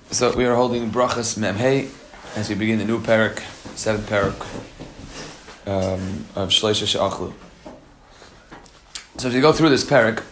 So we are holding Brachas Memhei as we begin the new parak, 7th parak of Shleisha She'achlu. So as we go through this parak,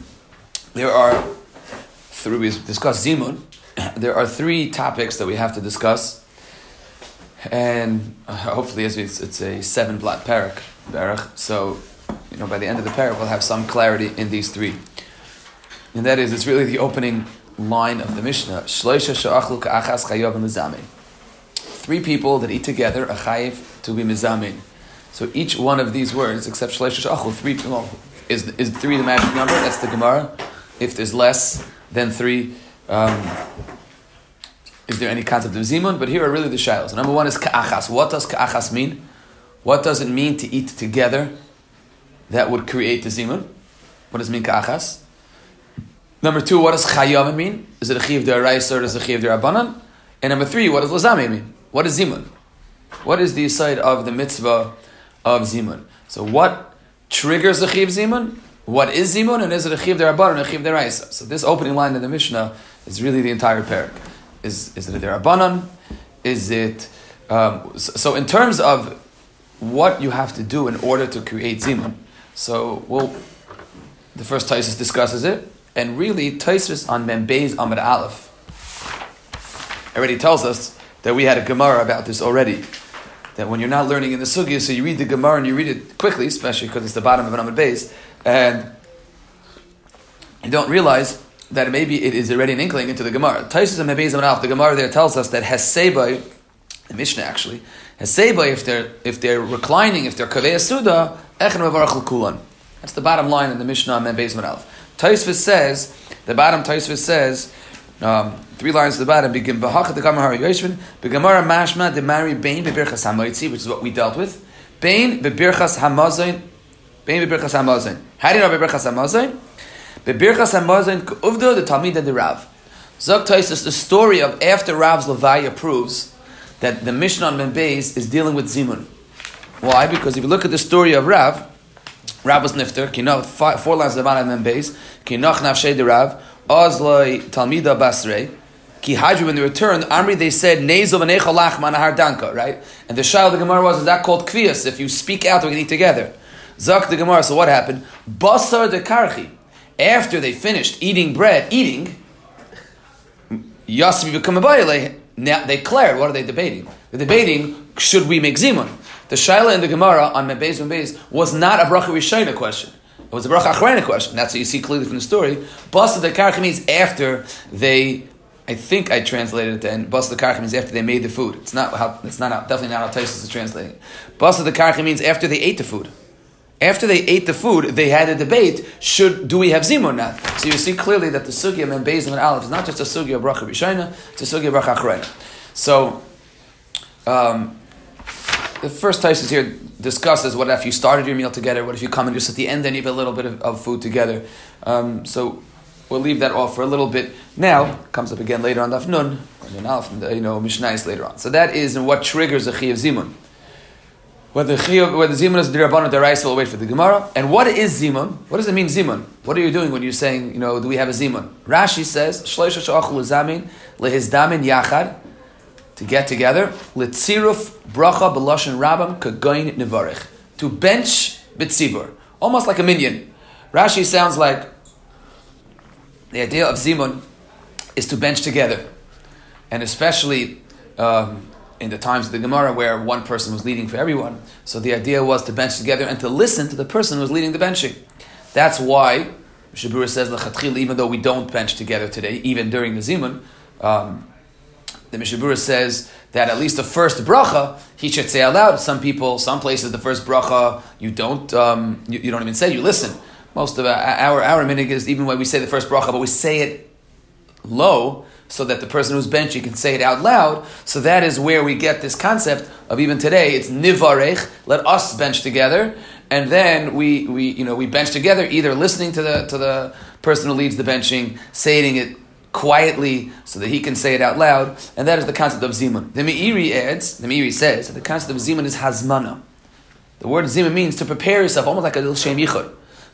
we've discussed Zimun. There are 3 topics that we have to discuss, and hopefully it's a 7-blot parak. So by the end of the parak we'll have some clarity in these 3, and that is, it's really the opening line of the Mishnah. Shleisha she'achlu ka'achas chayav mizamin. 3 people that eat together are chayiv to be mizamin. So each one of these words, except shleisha she'achlu, 3 is 3 the magic number? That's the Gemara. If there's less than 3, is there any concept of zimun? But here are really the shilos. Number 1 is ka'achas. What does ka'achas mean? What does it mean to eat together that would create the zimun? What does it mean ka'achas? Number 2, what does chayav mean? Is it a chiv d'oraisa or is it a chiv d'Rabbanan? And number 3, what does lazame mean? What is zimun? What is the side of the mitzvah of zimun? So what triggers the chiv zimun? What is zimun? And is it a chiv d'Rabbanan or a chiv d'oraisa? So this opening line in the Mishnah is really the entire parak. Is it a d'Rabbanan? Is it... So in terms of what you have to do in order to create zimun, the first Taisus discusses it. And really, Tosfos on Mem Beis Amud Aleph already tells us that we had a Gemara about this already. That when you're not learning in the Sugya, so you read the Gemara and you read it quickly, especially because it's the bottom of an Amud Beis, and you don't realize that maybe it is already an inkling into the Gemara. Tosfos on Mem Beis Amud Aleph, the Gemara there tells us that Hesebay, the Mishnah actually, Hesebay, if they're reclining, if they're Kaveh Suda, Echen Mevarach L'Kulan. That's the bottom line in the Mishnah on Mem Beis Amud Aleph. Tosfos says, 3 lines to the bottom, begin b'hachat the Gemara Yoshvin, b'Gemara mashma de mari bein b'birchas hamoitzi, which is what we dealt with. Bein b'birchas hamazon. How do you know b'birchas hamazon? B'birchas hamazon k'uvdo the Talmida de Rav. Zok Tosfos, the story of after Rav's Levaya proves that the Mishnah on Mem Beis is dealing with zimun. Why? Because if you look at the story of Rav was nifter, 4 lines of the bottom of Mem Beis, kinach nafshei de Rav, ozloi talmida basrei, ki hadru, when they returned, Amri, they said, nezo v'necha lachma nahar danka, right? And the shayla of the Gemara was, is that called kviyas? If you speak out, we can eat together. Zak the Gemara, so what happened? Basar de karchi, after they finished eating, yasvi v'kamabayale, now they declared, what are they debating? They're debating, should we make zimun? The shayla in the Gemara on Mem Beis was not a bracha rishayna question. It was a bracha achrayna question. That's what you see clearly from the story. Basa the karcha means after they, I think I translated it then, Basa the karcha means after they made the food. Definitely not how Tosfos is translating it. Basa the karcha means after they ate the food. After they ate the food, they had a debate, do we have zimun or not? So you see clearly that the sugya of Mem Beis Amud Aleph is not just a sugya of bracha rishayna, it's a sugya of bracha achrayna. So, the first Tosfos here discusses what if you started your meal together, what if you come and just at the end and eat a little bit of food together. So we'll leave that off for a little bit. Now, comes up again later on Daf Nun, Mishnayos later on. So that is what triggers a Chiyav Zimun. Whether Zimun is D'Rabbanan or D'Oraisa, we'll wait for the Gemara. And what is Zimun? What does it mean Zimun? What are you doing when you're saying, do we have a Zimun? Rashi says, Shleisha she'achlu zamin lehizdamin yachad, to get together, litziruf bracha b'lashon rabam kagoyin nevarich, to bench b'tzibur, almost like a minyan. Rashi sounds like the idea of zimun is to bench together, and especially in the times of the Gemara where one person was leading for everyone. So the idea was to bench together and to listen to the person who was leading the benching. That's why Mishnah Berurah says l'chatchila, even though we don't bench together today, even during the zimun. The Mishnah Berurah says that at least the first bracha he should say aloud. Some places, the first bracha you don't even say. You listen. Most of our minhag is even when we say the first bracha, but we say it low so that the person who's benching can say it out loud. So that is where we get this concept of even today. It's nivarech. Let us bench together, and then we bench together, either listening to the person who leads the benching, saying it quietly so that he can say it out loud, and that is the concept of zimun. The Meiri says that the concept of zimun is hazmana. The word zimun means to prepare yourself, almost like a little shem yichud,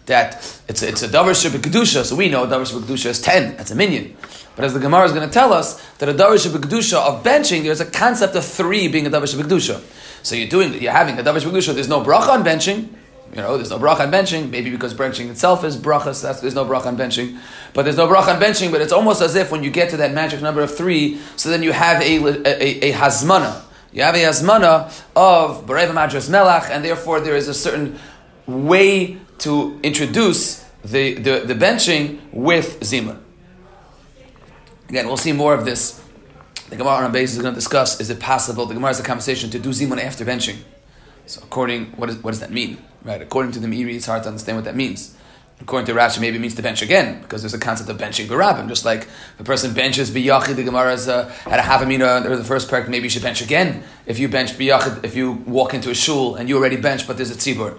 that it's a davar shebekdusha, so we know davar shebekdusha is 10, that's a minyan. But as the Gemara is going to tell us, that a davar shebekdusha of benching, there's a concept of 3 being a davar shebekdusha. So you're having a davar shebekdusha, there's no bracha on benching, there's no bracha on benching, maybe because benching itself is bracha, so there's no bracha on benching. But there's no bracha on benching, but it's almost as if when you get to that magic number of 3, so then you have a hazmana. You have a hazmana of B'Rev Madras Melach, and therefore there is a certain way to introduce the benching with zimun. Again, we'll see more of this. The Gemara on a basis is going to discuss, is it possible, the Gemara has a conversation to do zimun after benching. So what does that mean? Right? According to the Meiri, it's hard to understand what that means. According to Rashi, maybe it means to bench again, because there's a concept of benching barabim. Just like if a person benches biyachid, the Gemara has had a havamina, or the first parak, maybe you should bench again. If you bench biyachid, if you walk into a shul and you already bench, but there's a tzibur.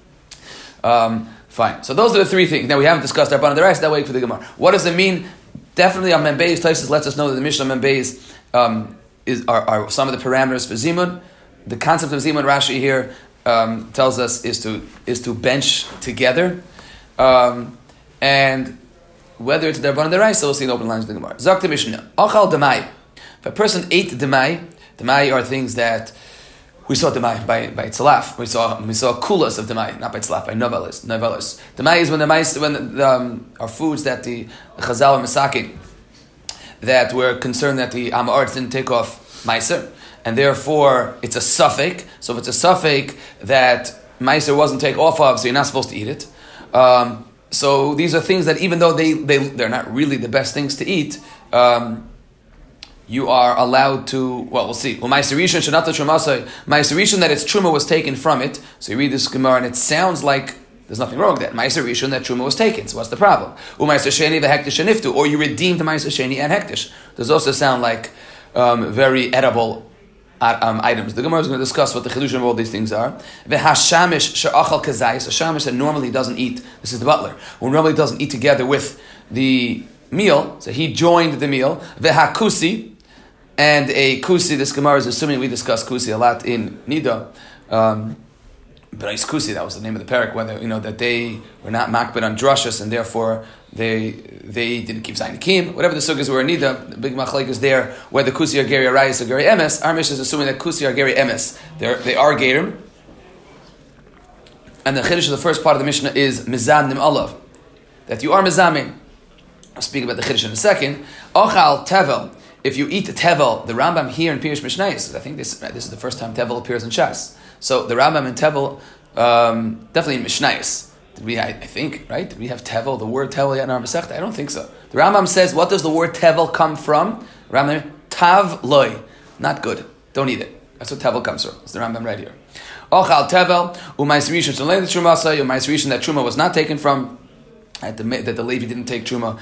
Fine. So those are the 3 things. Now we haven't discussed our the rest. That way for the Gemara. What does it mean? Definitely on Membeis, Taisus lets us know that the Mishnah Membeis are some of the parameters for zimun. The concept of zimun, Rashi here tells us is to bench together. And whether it's Darban or the rice, so we'll see in open lines of the Gemara. Zakta Mishnah. Achal demai. If a person ate demai are things that we saw demai by tzalaf. We saw kulas of demai, not by tzalaf, by novelis. Demai is when are foods that the Chazal or Masakin that were concerned that the Amaretz didn't take off meiser, and therefore it's a suffix. So if it's a suffix that meiser wasn't taken off of, so you're not supposed to eat it. So these are things that even though they're not really the best things to eat, you are allowed to, we'll see. Well, Ma'aser Rishon Shenata Trumasai, Ma'aser Rishon that its truma was taken from it. So you read this Gemara and it sounds like there's nothing wrong with that. Ma'aser Rishon, that truma was taken. So what's the problem? Ma'aser Sheni v'hektish sheniftu, or you redeemed the Ma'aser Sheni and hektish. Those also sound like very edible items. The Gemara is going to discuss what the chidushim of all these things are. V'hashamish she'achal kazayis, a shamish that normally doesn't eat. This is the butler, who normally doesn't eat together with the meal. So he joined the meal. V'hakusi, and a kusi. This Gemara is assuming we discuss kusi a lot in Nida. But it's kusi, that was the name of the parak. Whether that they were not makbid on drashas and therefore they didn't keep zayin kim. Whatever the sugyas were in Nida, the big machlek is there. Whether kusi are geri arayis or geri emes. Our Mishnah is assuming that kusi are geri emes. They are gerim. And the chiddush of the first part of the Mishnah is mizamnim alav, that you are mizamin. I'll speak about the chiddush in a second. Ochal tevel. If you eat the tevel, the Rambam here in Pirush Mishnayos, I think this is the first time tevel appears in Shas. So the Rambam and tevel, definitely in Mishnayos. I think, right? Did we have tevel, the word tevel yet in our Masechta? I don't think so. The Rambam says, what does the word tevel come from? Rambam, tav loy, not good. Don't eat it. That's what tevel comes from. It's the Rambam right here. Ochal tevel, u'mais rishon shalei the trumasa, u'mais rishon that truma was not taken from, that the Levi didn't take truma,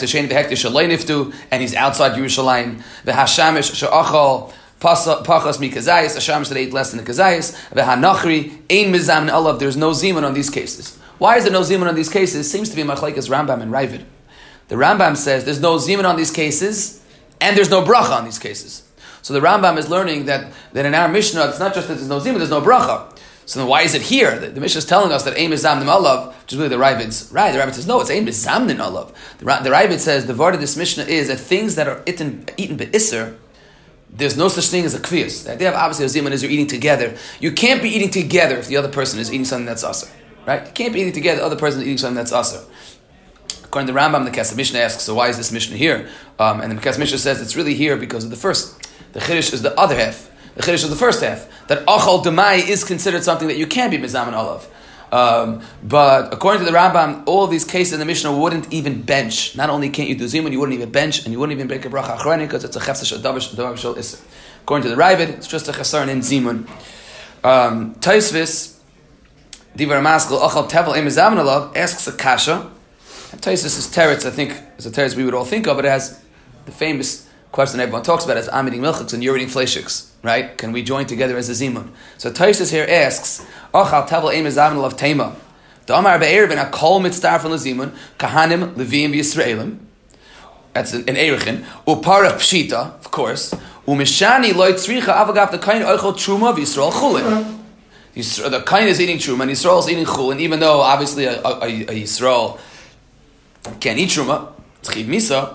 and he's outside Yerushalayim. The hashamish she'achal pachas mikazayis, a shamish that ate less than the kazayis. The hanachri ein mizam olav. There's no zimun on these cases. Why is there no zimun on these cases? Seems to be machlekes Rambam and Ravid. The Rambam says there's no zimun on these cases, and there's no bracha on these cases. So the Rambam is learning that in our Mishnah, it's not just that there's no zimun, there's no bracha. So then why is it here? The Mishnah is telling us that Ein Mizamnin Olav, which is really the Ravid's right. The Ravid says, no, it's Ein Mizamnin Olav. The Ravid says, the word of this Mishnah is that things that are eaten be'isser, there's no such thing as a kviyas. The idea of obviously a zimun is you're eating together. You can't be eating together if the other person is eating something that's asr. Right? You can't be eating together, the other person is eating something that's asr. According to Rambam, the Kesef Mishnah asks, so why is this Mishnah here? And the Kesef Mishnah says it's really here because of the first. The Chiddush is the other half. The Chiddush is the first half. That Achal Demai is considered something that you can't be Mizaman Olav. But according to the Rambam, all these cases in the Mishnah wouldn't even bench. Not only can't you do Zimun, you wouldn't even bench, and you wouldn't even break a bracha achroni because it's a chefsa davar shel iser. According to the Ravid, it's just a chasar in Zimun. Taisvis, Divar Maskal, Achal Tevel Ein Mizaman Olav, asks a kasha. And Taisvis is teretz, I think, is a teretz we would all think of, but it has the famous question everyone talks about is I'm eating milchiks and you're eating fleishiks, right? Can we join together as a zimun? So Taisus here asks, Ochal tevel ein mizamin alav tema. Damar be'erevin akol mitzdarfen lezimun kahanim levim v'yisraelim. That's an erichin. Uparach pshita, of course. Umishani loy tzricha avagav the kain oichel truma v'yisrael chulin. The kain is eating truma, and Yisrael is eating chul, and even though obviously a Yisrael can't eat truma, it's chiv misa.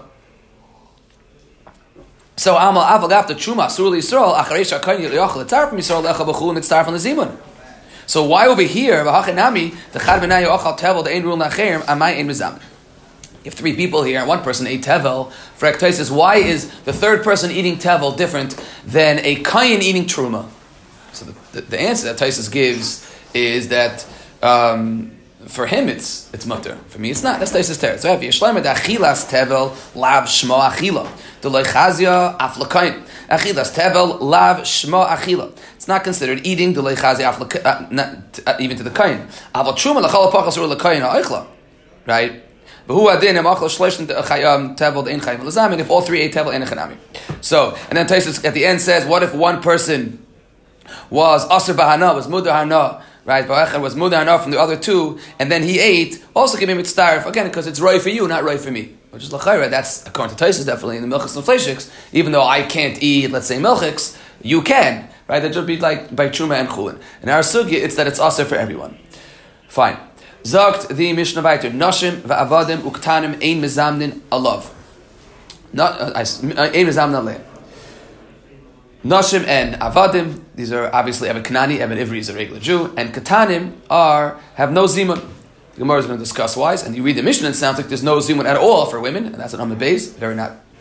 So amal aval after truma sur Yisrael acharesh kain yochel etzar from Yisrael lecha b'chul and etzar from the zimun. So why over here v'hachenami the chad b'nai yochel tevel the ein rule nacherim amai ein mizam. You have 3 people here, and one person ate tevel. For Ektosis, why is the third person eating tevel different than a kain eating truma? So the answer that Taisus gives is that for him it's mutter. For me it's not. That's Taisus teretz. So I have Yishleimer the achilas tevel lav shmo achila. The loichazia af lakain. Achilas tevel lav shmo achila. It's not considered eating the loichazia af lakain, even to the kain. Aval truma lachal pachas or lakain ha'oichla. Right? If all 3 ate tevel and chanami. So, and then Taisus at the end says, what if one person was asr bahana, was mudar hana, right? Was mudar hana from the other 2, and then he ate, also give him mitzdarif, again, because it's right for you, not right for me. Which is l'chayra, that's, according to Taisus, definitely in the milchiks and fleishiks, even though I can't eat, let's say, milchiks, you can, right? That should be like by truma and chulin. In our sugya, it's that it's asr for everyone. Fine. Zogt the Mishnah weiter. Nashim va'avadim uktanim ein mezamnin alav. Ein mezamnin aleh. Nashim and avadim, these are obviously Eved Kanani, Eved Ivri is a regular Jew, and katanim have no zimun. The Gemara is going to discuss why, and you read the Mishnah, and it sounds like there's no zimun at all for women, and that's an Amud Beis, very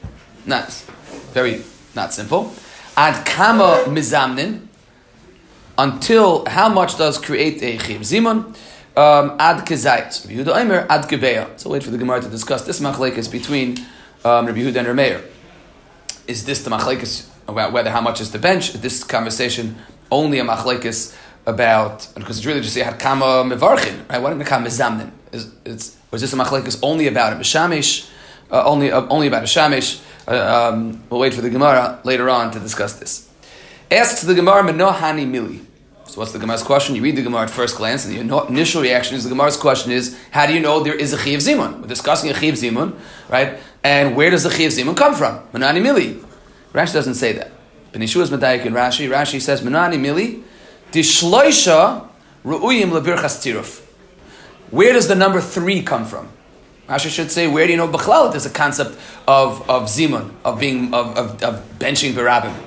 not simple. Ad kama mizamnin, until how much does create a chiv zimun? Ad kezayt. Rabbi Yehuda Omer ad kebeya. So wait for the Gemara to discuss this machlekes between Rabbi Yehuda and Rameir. Is this the machlekes about whether how much is the bench? This conversation only a machlekes about, because it's really just had kama mevarchin, right? What did the kama mezamnin? Was this a machlekes only about a b'shamish? Only about a shamish? We'll wait for the Gemara later on to discuss this. Asks the Gemara menohani mili. So what's the Gemara's question? You read the Gemara at first glance, and the initial reaction is the Gemara's question is, how do you know there is a Chiv Zimun? We're discussing a Chiv Zimun, right? And where does the Chiv Zimun come from? Menani Mili. Rashi doesn't say that. Ben Yeshua's Medayik in Rashi. Rashi says, Menani Mili, Dishloisha Ru'uyim Lebirchas Tiruf. Where does the number 3 come from? Rashi should say, where do you know B'chlal there's a concept of Zimun, of benching Barabim?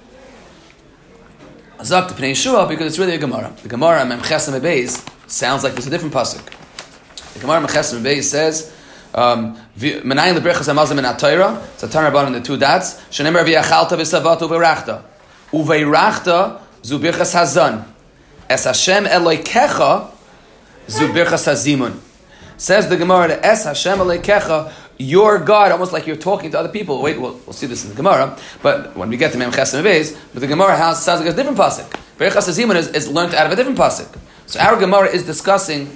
Azak to Pnei Yeshua, because it's really a Gemara. The Gemara Memches Beis sounds like there's a different pasuk. The Gemara Memches Beis says, "Menayin lebrechas hamazon min atayra." It's a Tanarabban in the 2 dots. Shenemer v'yachalta v'savata uveirachta, uveirachta zu birchas hazan. Es Hashem Elokecha zu birchas hazimun. Says the Gemara, Es Hashem Elokecha, your God, almost like you're talking to other people. Wait, we'll see this in the Gemara, but when we get to Mem Chesem Beis, but the Gemara sounds like a different pasuk. Berachas Hazimun is learned out of a different pasuk. So our Gemara is discussing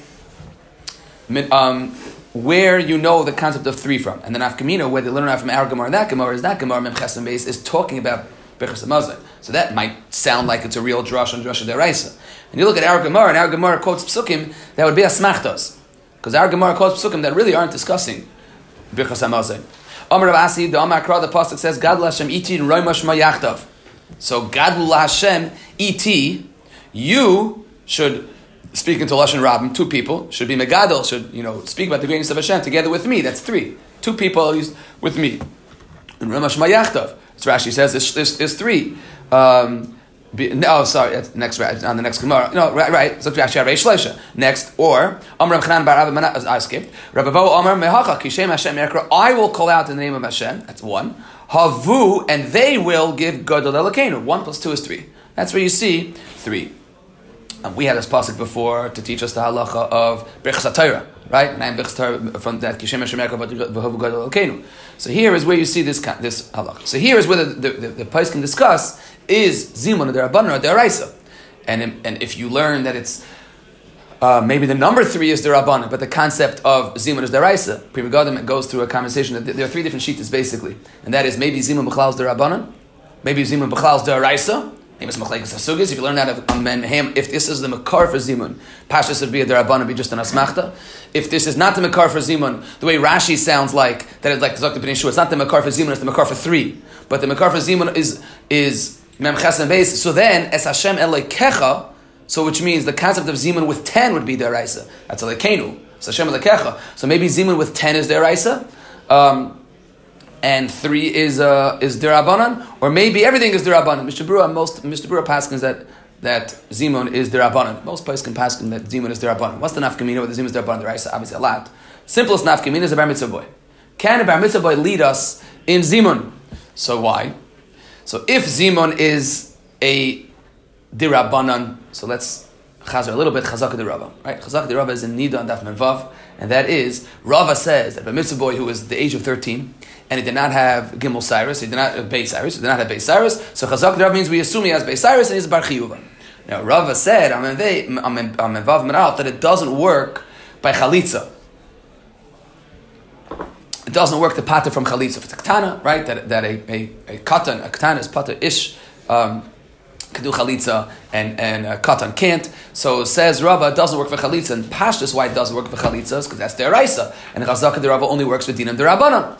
where you know the concept of 3 from, and then Afkamina, where they learn out from our Gemara and that Gemara Mem Chesem Beis is talking about Berachas Hamazon. So that might sound like it's a real drush and drush deraisa. And you look at our Gemara, and our Gemara quotes psukim that would be asmachtos, because our Gemara quotes psukim that really aren't discussing Birchas Hamazon. Amar Rav Asi, the Amar Kra, the pasuk says, Gadol Hashem iti roima shma yachtav. So Gadol Hashem iti, you should speak into Lashon Rabbim, 2 people, should be Megadol, should, speak about the greatness of Hashem together with me. That's 3. 2 people at least with me. And roima shma yachtav. So Rashi says there's 3. Next on the next Gemara. No, right. So Rashi Reish Leisha. Next, or Amar Rav Chanan bar Rabbi Menachos. I skipped. Rabbi Vo Amar Mehacha Kishem Hashem Yekra. I will call out in the name of Hashem. That's 1. Havu, and they will give Gadol Elokeinu. 1 + 2 is 3. That's where you see 3. And we had this pasuk before to teach us the halacha of Birchas HaTorah, right? 9 Birchas HaTorah from that Kishem Hashem Yekra v'Havu Gadol Elokeinu. So here is where you see this halacha. So here is where the Pais can discuss is Zimun or Derabanan or Deraisa. And if you learn that it's maybe the number 3 is Derabanan, but the concept of Zimun is Deraisa, Pri Megadim goes through a conversation that there are 3 different shittas basically. And that is maybe Zimun B'chlal is Derabanan, maybe Zimun B'chlal is Deraisa, maybe it's Machlekes HaSugis. If you learn that of if this is the Makar for Zimun, Pashas would be a Derabanan, be just an Asmachta. If this is not the Makar for Zimun, the way Rashi sounds like, that it's like Dr. B'nai Shua, it's not the Makar for Zimun, it's the Makar for 3. But the Makar for Zimun is Mem Chesem Beis. So then, Es Hashem Elokecha, So which means the concept of zimun with 10 would be deraisa. That's a lekenu. So Hashem lekecha. So maybe zimun with 10 is deraisa, and 3 is derabanan, or maybe everything is derabanan. Mr. Brewer paskins that zimun is derabanan. Most places can paskin that zimun is derabanan. What's the nafkamina with the zimun is derabanan? Deraisa, obviously a lot. Simplest nafkamina is a bar mitzvah boy. Can a bar mitzvah boy lead us in zimun? So why? So if zimun is a dirabanan, so let's chazer a little bit, chazaka de Rava, right? Chazaka de Rava is in Nida and Daf Menvav, and that is, Rava says that a mitzvah boy who was the age of 13, and he did not have Gimel Cyrus, he did not have Beis Cyrus, so chazaka de Rava means we assume he has Beis Cyrus and he's Bar Chiyuva. Now Rava said, Menvav Menal, that it doesn't work by chalitza. It doesn't work to pater from chalitza. If it's a katana, right, that a katana is pater ish, can do chalitza and katan can't. So says Rava, it doesn't work for chalitza. And Pashtus, why it doesn't work for chalitza is because that's deraisa, and chazaka de Rava only works for dinam derabanan.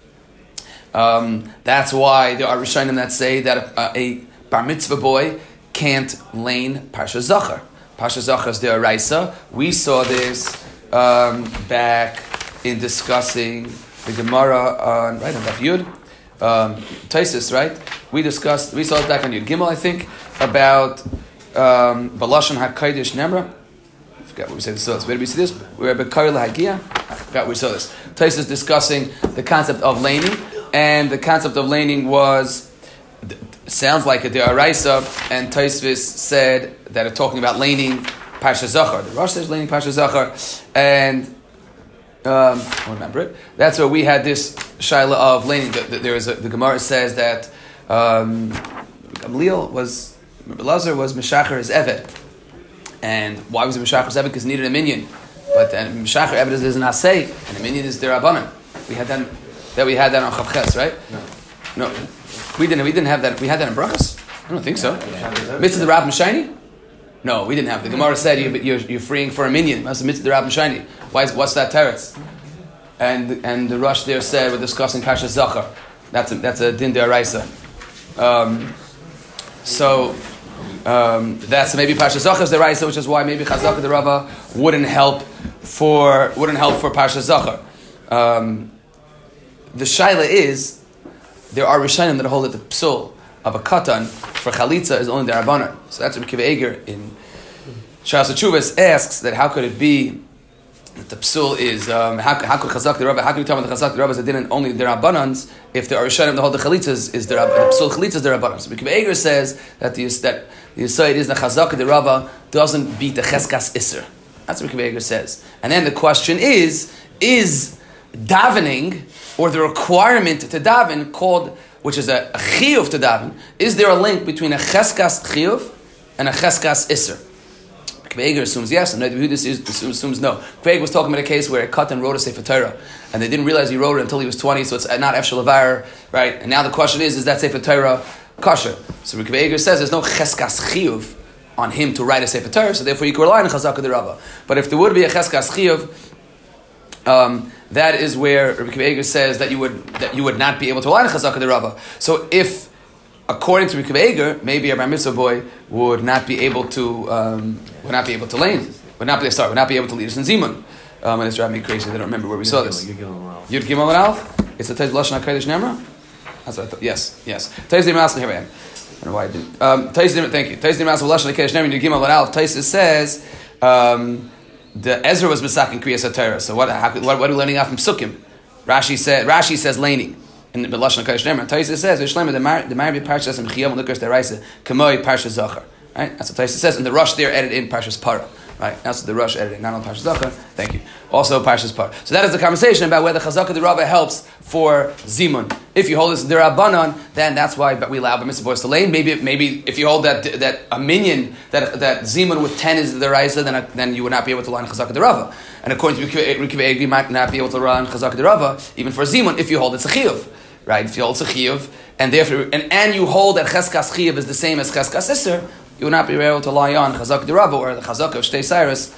That's why there are rishonim that say that a bar mitzvah boy can't lane parsha zachar. Parsha zachar is deraisa. We saw this back in discussing the Gemara on Daf Yud, Taisus, right? We saw it back on Yud Gimel, I think, about Balashon HaKadosh Nemra. I forgot what we said this was. Where did we see this? We were at Bekar LaHagia. I forgot where we saw this. Taisus discussing the concept of laning, and the concept of laning sounds like a De'araisa, and Taisus said that it's talking about laning Parsha Zachar. The Rosh says laning Parsha Zachar, and I don't remember it. That's where we had this shaila of laning. The Gemara says that Gamliel was Meshacher his Eved. And why was it Meshacher his Eved? Because he needed a minion. But then Meshacher Eved is an Asay, and a minion is Derabanan. We had that on Chavches, right? No. We didn't have that. We had that in Brachos? I don't think so. Mitzvah the Rab Meshayni? No, we didn't have. The Gemara said you're freeing for a minion. That's the Mitzvah the Rab Meshayni. What's that teretz? And the Rosh there said we're discussing Parsha Zachar. That's a din de'araisa. That's maybe Parsha Zachar de'araisa, which is why maybe Chazaka de Rava wouldn't help for Parsha Zachar. The shaila is there are rishonim that hold that the psul of a katan for chalitza is only the Rabbanan. So that's what Kiva Eger in Shas Chuvas asks that how could it be that the psul is how could Chazak the Rabba? How can you tell me the Chazak the Rabba is didn't only the Rabbanans if there are rishonim that hold the chalitza is the psul chalitza is the Rabbanan? So Kiva Eger says that the Yisayid is the Chazak the Rabba doesn't beat the Cheskas Isser. That's what Kiva Eger says. And then the question is davening or the requirement to daven called, which is a chiyuv to daven, is there a link between a cheskas chiyuv and a cheskas iser? Kveger assumes yes, and Yehuda assumes no. Kveger was talking about a case where a katan wrote a Sefer Torah, and they didn't realize he wrote it until he was 20, so it's not efshel avar, right? And now the question is that Sefer Torah kosher? So Kveger says there's no cheskas chiyuv on him to write a Sefer Torah, so therefore you could rely on Chazaka de Rava. But if there would be a cheskas chiyuv, that is where Rabbi Kiva Eger says that you would not be able to rely on Chazaka de Rava. So if, according to Rabbi Kiva Eger, maybe a bar mitzvah boy would not be able to lane, would not be able to lead us in Zimun. And it's driving me crazy. I don't remember where we saw this. Yud Gimel and Alf. It's a Tez Lashon HaKadosh Nemra. That's what I thought. Yes. Tez Dimas. Here I am. I don't know why I didn't. Thank you. Tez Dimas Lashon HaKadosh Nemra. Yud Gimel and Alf. Tez says. The Ezra was Misakin Kriyas HaTorah. So what are we learning out from Sukkim? Rashi says laning in the Lashon HaKadosh Nemra. Taisa says V'shleima the Marbi Parshas and Chiyam Lukas Deraisa Kamoi Parshas Zachar. Right? That's what Taisa says. And the Rosh there added in Parshas Para. Right? That's what the Rosh added in. Not on Parshas Zachar. Thank you. Also Parshas Para. So that is the conversation about whether Chazaka de Rava helps for Zimun. If you hold this Derabanan, then that's why we allow B'mitzvah boys to lane. Maybe if you hold that a minion that Zimun with 10 is the Raisa, then you would not be able to line Chazaka de Rava. And according to Rikiv Egri, you might not be able to run Chazaka de Rava even for Zimun if you hold it's a Chiyuv. Right? If you hold it's a Chiyuv, and therefore and you hold that Cheskas Chiyuv is the same as Cheskas Isser, you would not be able to lie on Chazaka de Rava or the Chazaka of Shtei Cyrus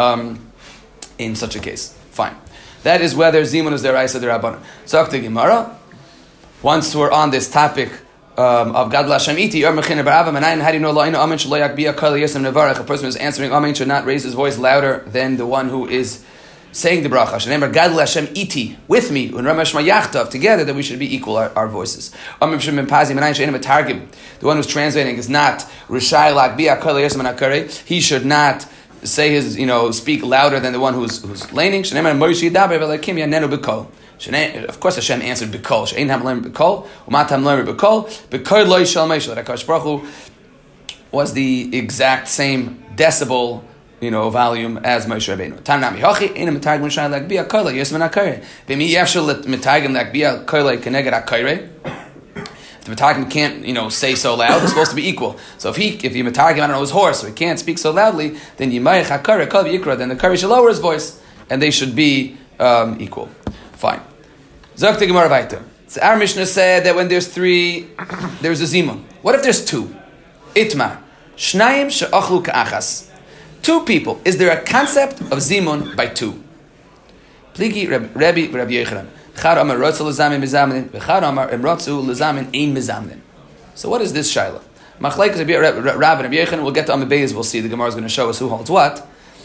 in such a case. Fine. That is whether Zimun is the Raisa de Rabbanan. Zok the Gemara. Once we're on this topic of Gadol Hashem Iti, or Mechina Barava, Manayin, how do you know La'ina Amen Shelo Yakbiya Kol Yisem Nevarech? A person who is answering Amen should not raise his voice louder than the one who is saying the bracha. Shenemar Gadol Hashem Iti, with me, and Rama Shema Yachtav, together, that we should be equal, our voices. Amen Shem Pazi, Manayin She'enim Targim, the one who's translating is not Rishai Lakbiya Kol Yisem Nakare. He should not say his, speak louder than the one who's laning. Shenemar Moshe Yidaber V'Lakim Yanenu B'Kol. Of course, Hashem answered B'Kol. She'ein ham learn B'Kol, umat ham learn B'Kol. B'Kol loy shal Moshe. That HaKadosh Baruch Hu was the exact same decibel, volume as Moshe Rabbeinu. Tam nami hachi ein mitagim l'shai l'akbiya kola yisman akare. V'mi yefshel mitagim l'akbiya kola keneged akare. If the mitagim can't, say so loud, it's supposed to be equal. So if you mitagim, his horse, so he can't speak so loudly, then yimayich hakare kol v'yikra. Then the kari should lower his voice, and they should be equal. Fine. Zok te Gemara weiter. So our Mishnah said that when there's 3, there's a zimun. What if there's 2? Itmar. Shnayim she'achlu ka'achas. 2 people. Is there a concept of zimun by 2? Pligi Rabbi Yochanan. Chad amar rotzu lezamin mizamnin. V'chad amar imrotzu lezamin ein mizamnin. So what is this shaila? Machlekes Rabbi and Rabbi Yochanan. We'll get to Amud Beis. We'll see. The Gemara is going to show us who holds what.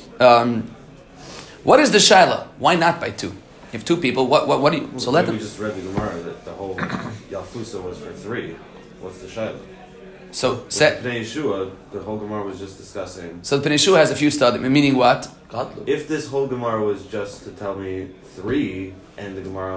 What is the shaila? Why not by 2? If 2 people, what do you... So let them... We just read the Gemara that the whole Yalfusa was for 3. What's the shaila? So... Pnei Yeshua, the whole Gemara was just discussing... So the Pnei Yeshua has a few studies, meaning what? If this whole Gemara was just to tell me 3, and the Gemara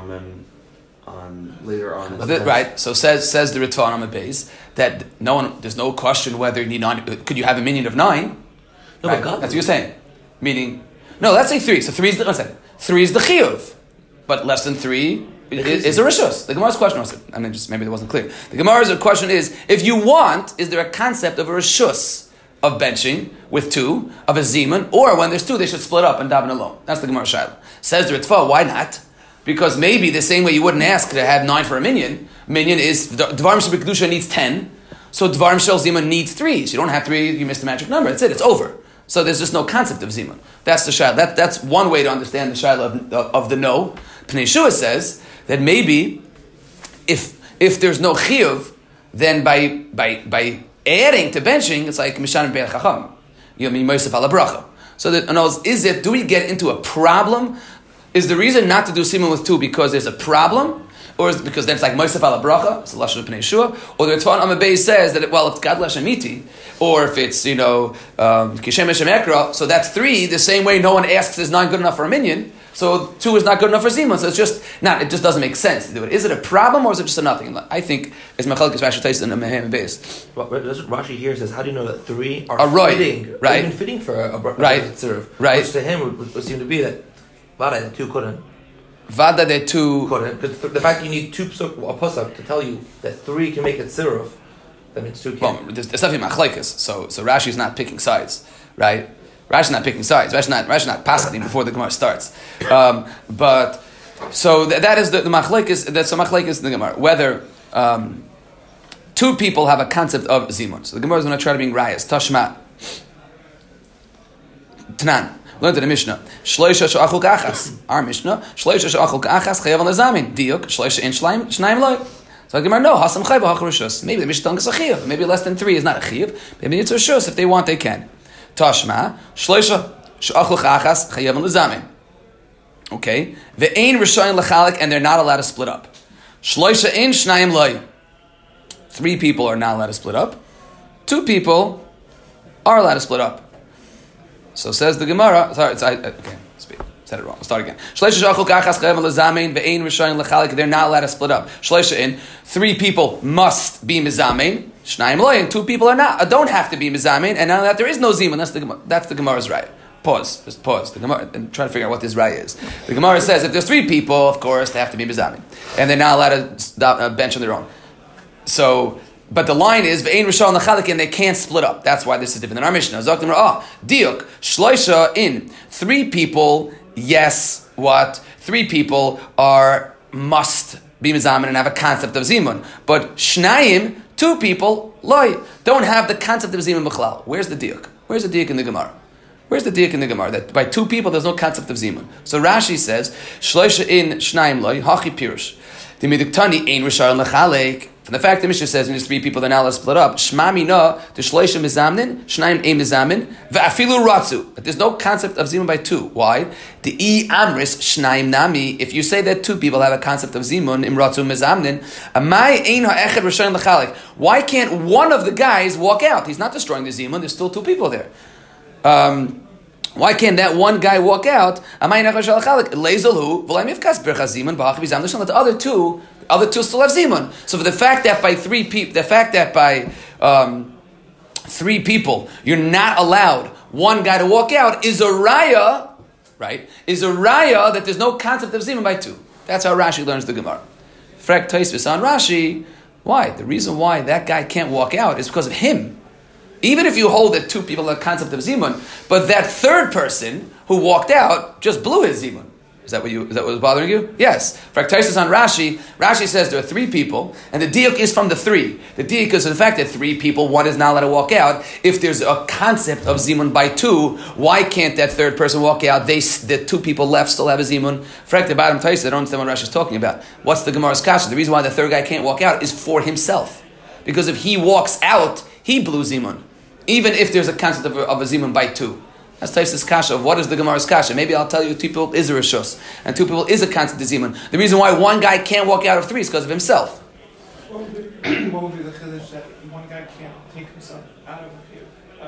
on later on... Right, so says the Ritva on the base, that there's no question whether you need 9... Could you have a minion of 9? No, right? That's what you're saying. Meaning... No, let's say 3. So 3 is the... Let's say 3 is the chiyuv. But less than 3 is a rishus. The Gemara's question was, maybe it wasn't clear. The Gemara's question is, if you want, is there a concept of a rishus of benching with 2, of a zimun, or when there's 2, they should split up and daven alone? That's the Gemara Shaila. Says the Ritva, why not? Because maybe the same way you wouldn't ask to have 9 for a minion is, Dvarim Shel B'Kedusha needs 10, so Dvarim Shel Zimun needs 3. So you don't have 3, you missed the magic number. That's it, it's over. So there's just no concept of zimun. That's the shaila. That's one way to understand the shaila of the no. Pnei Yeshua says that maybe if there's no chiyuv, then by adding to benching, it's like mishan be'el chacham. Mosef ala bracha. So that, in other words, do we get into a problem? Is the reason not to do zimun with 2 because there's a problem? Or is it because then it's like Mosef ala bracha, it's the lashon of Pnei Yeshua, or the Ritva on Amud Beis says that it's Gadol Hashem Iti, or if it's Kishem Hashem Ekra, so that's 3. The same way no one asks is 9 good enough for a minion, so 2 is not good enough for zimun. So it's just not. It just doesn't make sense to do it. Is it a problem or is it just a nothing? I think it's Machalekes Rashi Tais in the Mehem Beis. Rashi here says, how do you know that 3 are fitting? Right, even fitting for a right, tziruf, right. Which to him would seem to be that Vada 2 couldn't. Vada de 2. Because the fact you need 2 a pasuk to tell you that 3 can make it tziruf, that means 2 can't. Well, there's definitely machlekes. So Rashi's not picking sides, right? Rashi's not picking sides. Rashi's not passing before the Gemara starts. But so that is the machlekes. That's a machlekes in the Gemara. Whether 2 people have a concept of zimun. So the Gemara is going to try to bring rayas. Tashma. Tanan. Learned in the Mishnah. Shloisha she'achul ka'achas. Our Mishnah. Shloisha she'achul ka'achas chayav al nezamin. Diuk. Shloisha in shnayim loy. So the Gemara, no. Hasam chayv ha'chrushus. Maybe the Mishnah telling us a chiyuv. Maybe less than 3 is not a chiyuv. Maybe it's a rishus. If they want, they can. Tashma. Shloisha she'achul ka'achas chayav al nezamin. Okay. Ve'ein rishayin l'chalik, and they're not allowed to split up. Shloisha in shnayim loy. 3 people are not allowed to split up. 2 people are allowed to split up. So says the Gemara. Sorry, okay, said it wrong. I'll start again. They're not allowed to split up. 3 people must be mizamein. 2 people are not. Don't have to be mizamein. And now that there is no zimun, that's the Gemara's right. Pause. Just pause. The Gemara and try to figure out what this right is. The Gemara says if there's 3 people, of course they have to be mizamein, and they're not allowed to bench on their own. So. But the line is ve'ein rishon l'chalik, and they can't split up. That's why this is different than our Mishnah. Diuk shloisha in 3 people. Yes, what 3 people must be mizamin and have a concept of zimun. But shnayim 2 people loy don't have the concept of zimun b'chlal. Where's the diuk? Where's the diuk in the Gemara? Where's the diuk in the Gemara that by 2 people there's no concept of zimun? So Rashi says shloisha in shnayim loy hachi pirush. The miduktani ein rishon l'chalik. From the fact that Mishnah says when there's three people, they're not allowed to split up. Shma mina the shleisha mizamnin, shnaim ein mizamin, ve'afilu ratzu. But there's no concept of zimun by two. Why? The I amris shnaim nami. If you say that two people have a concept of zimun im ratzu mizamnin, amai ein ha'echad rishon l'chalik. Why can't one of the guys walk out? He's not destroying the zimun. There's still two people there. Why can't that one guy walk out? Let the other two still have zimun. So for the fact that by three people, you're not allowed one guy to walk out is a raya, right? Is a raya that there's no concept of zimun by two. That's how Rashi learns the Gemara. Frek Tosfos on Rashi. Why? The reason why that guy can't walk out is because of him. Even if you hold that two people have a concept of zimun, but that third person who walked out just blew his zimun. Is that what was bothering you? Yes. Fraktasis on Rashi. Rashi says there are three people, and the diuk is from the three. The diuk is the fact that three people, one is not allowed to walk out. If there's a concept of zimun by two, why can't that third person walk out? The two people left still have a zimun. Frak the bottom Taisa, I don't understand what Rashi is talking about. What's the Gemara's kasha? The reason why the third guy can't walk out is for himself, because if he walks out, he blew zimun, even if there's a concept of a zimun by two. That's Tais's kasha of what is the Gemara's kasha. Maybe I'll tell you two people is a rishus, and two people is a concept of zimun. The reason why one guy can't walk out of three is because of himself. What would be the chiddush that one guy can't take himself out of the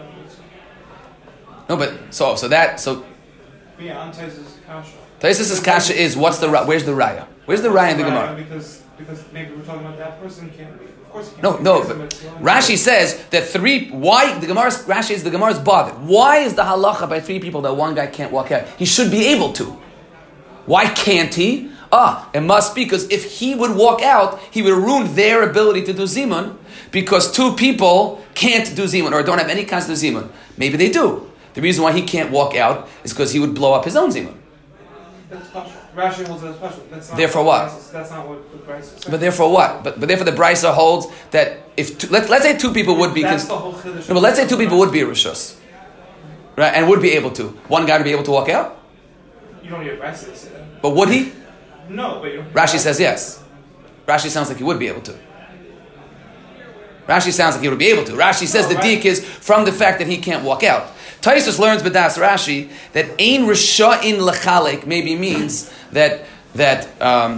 No, but so yeah, on Tais's kasha. Tais's kasha is where's the raya? Where's the raya in the Gemara? Because maybe we're talking about that person can't leave. Of course he No, can't. but Rashi says that three. Why Rashi is the Gemara's bothered? Why is the halacha by three people that one guy can't walk out? He should be able to. Why can't he? It must be because if he would walk out, he would ruin their ability to do zimun, because two people can't do zimun or don't have any concept of zimun. Maybe they do. The reason why he can't walk out is because he would blow up his own zimun. That's special. Rashi holds that special. That's not therefore what? That's not what the Brisa says. But therefore what? But therefore the Brisa holds that if let's say two people would be. That's the whole chiddush. No, but let's say two people would be a rishus, right, and would be able to. One guy to be able to walk out. You don't need a Brisa to say that. But would he? No, but you don't. Rashi says yes. Rashi sounds like he would be able to. Rashi sounds like he would be able to. Rashi says the diik is from the fact that he can't walk out. Taisus learns b'das Rashi that ein risha'in lechalik maybe means that they